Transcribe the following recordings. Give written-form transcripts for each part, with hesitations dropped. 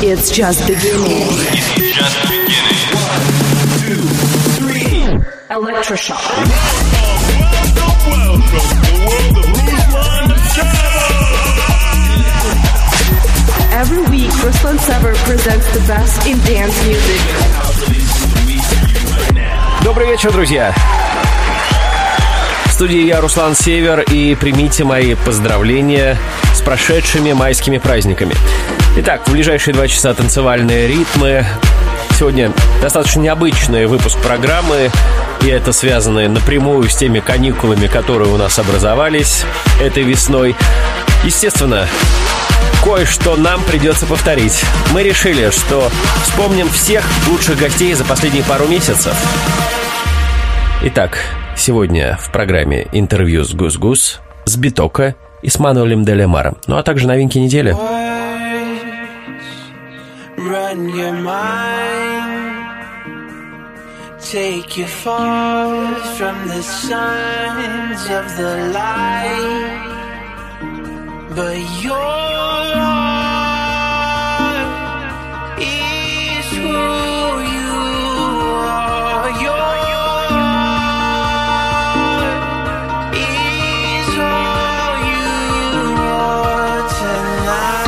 It's just beginning. It's just beginning. 1, 2, 3. Electroshock. Welcome to the world of Ruslan Sever. Every week, Ruslan Sever presents the best in dance music. Добрый вечер, друзья! В студии я, Руслан Север, и примите мои поздравления с прошедшими майскими праздниками. Итак, в ближайшие 2 часа танцевальные ритмы. Сегодня достаточно необычный выпуск программы, и это связано напрямую с теми каникулами, которые у нас образовались этой весной. Естественно, кое-что нам придется повторить. Мы решили, что вспомним всех лучших гостей за последние пару месяцев. Итак, сегодня в программе интервью с Гус-Гус, с Битоко и с Мануэлем де Лемаром. Ну а также новинки недели. Take you far from the signs of the light, but your heart is who you are. Your heart is all you are tonight.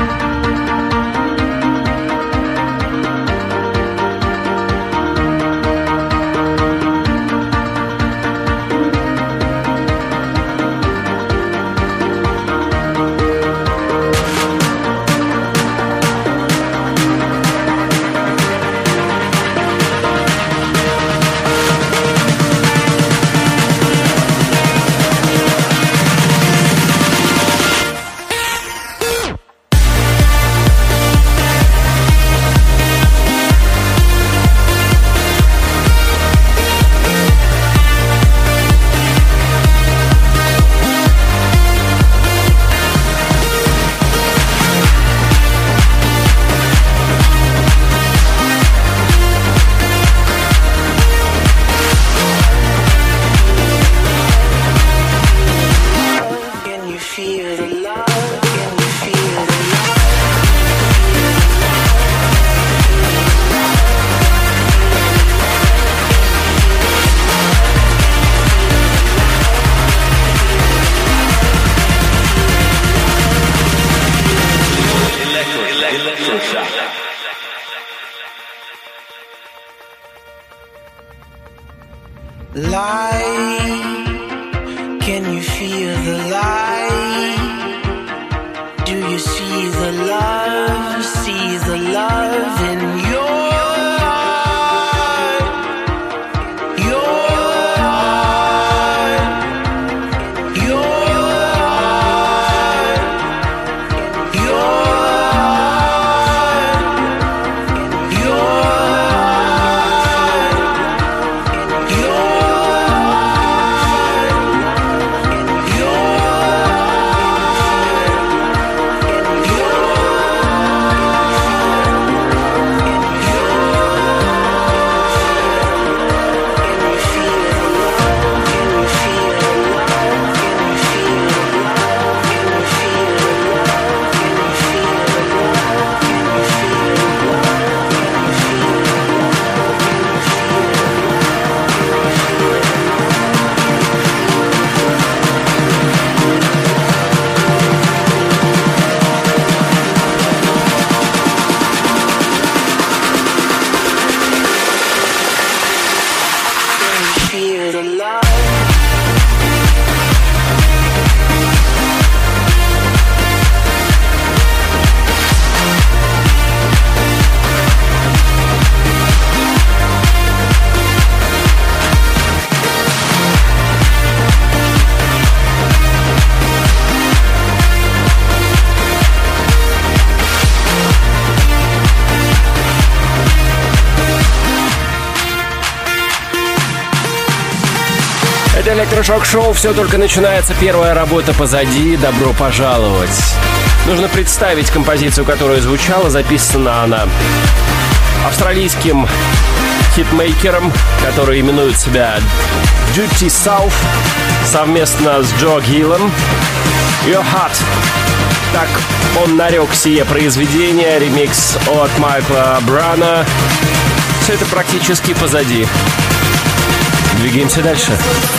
Электрошок-шоу, все только начинается, первая работа позади, добро пожаловать. Нужно представить композицию, которая звучала, записана она австралийским хитмейкером, который именует себя Duty South, совместно с Джо Гиллом. Your Heart. Так он нарек сие произведение, ремикс от Майкла Брана. Все это практически позади. Двигаемся дальше.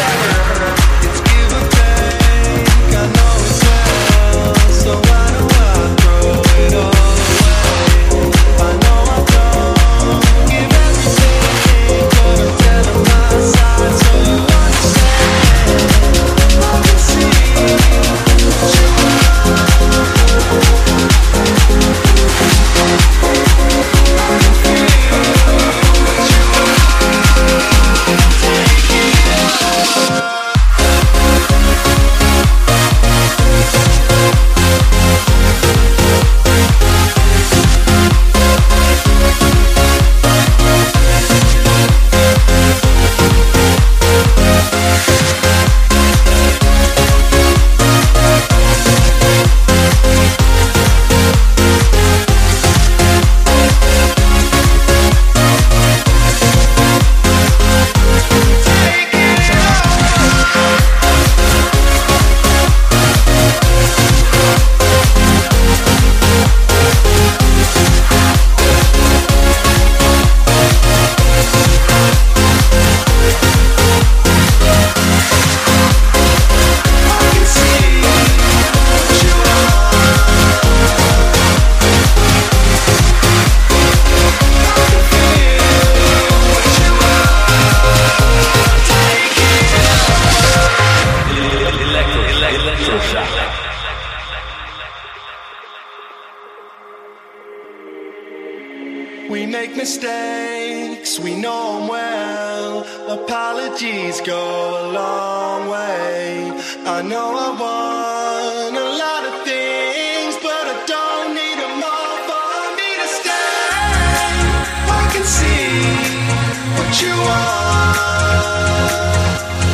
We make mistakes, we know them well. Apologies go a long way. I know I want a lot of things, but I don't need them all for me to stay. I can see what you want.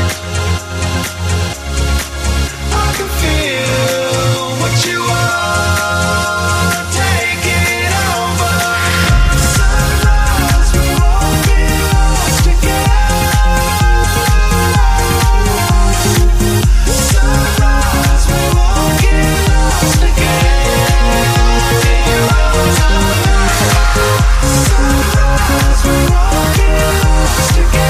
I can feel what you want. Take it over. Sunrise, we're walking lost together. Sunrise, we're walking lost together. Sunrise, we're walking lost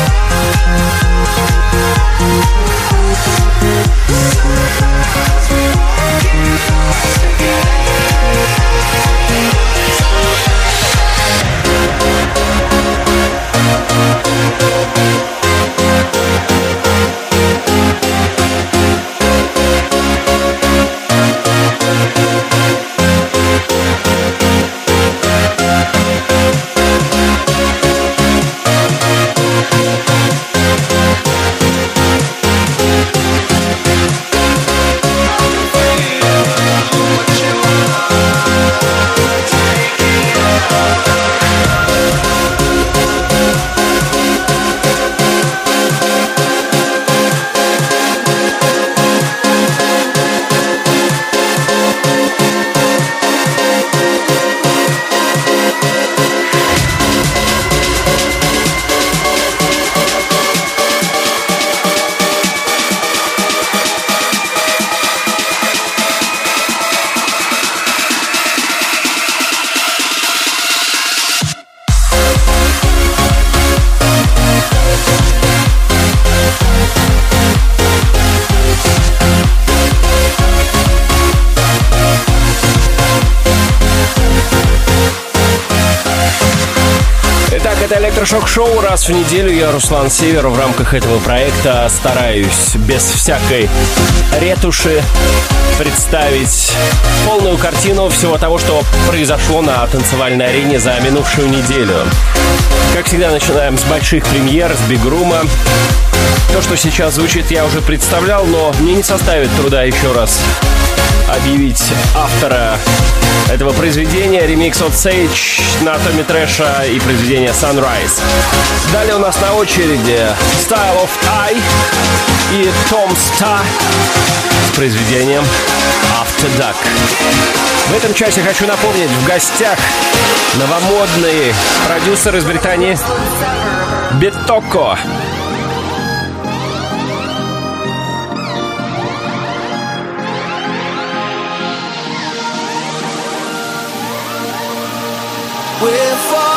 Это электрошок-шоу. Раз в неделю я, Руслан Север, в рамках этого проекта стараюсь без всякой ретуши представить полную картину всего того, что произошло на танцевальной арене за минувшую неделю. Как всегда, начинаем с больших премьер, с бигрума. То, что сейчас звучит, я уже представлял, но мне не составит труда еще раз объявить автора этого произведения. Ремикс от Sage на Томми Трэша и произведение Sunrise. Далее у нас на очереди Style of Eye и Tom Starr с произведением After Dark. В этом часе хочу напомнить, в гостях новомодный продюсер из Британии Битоко. We're falling.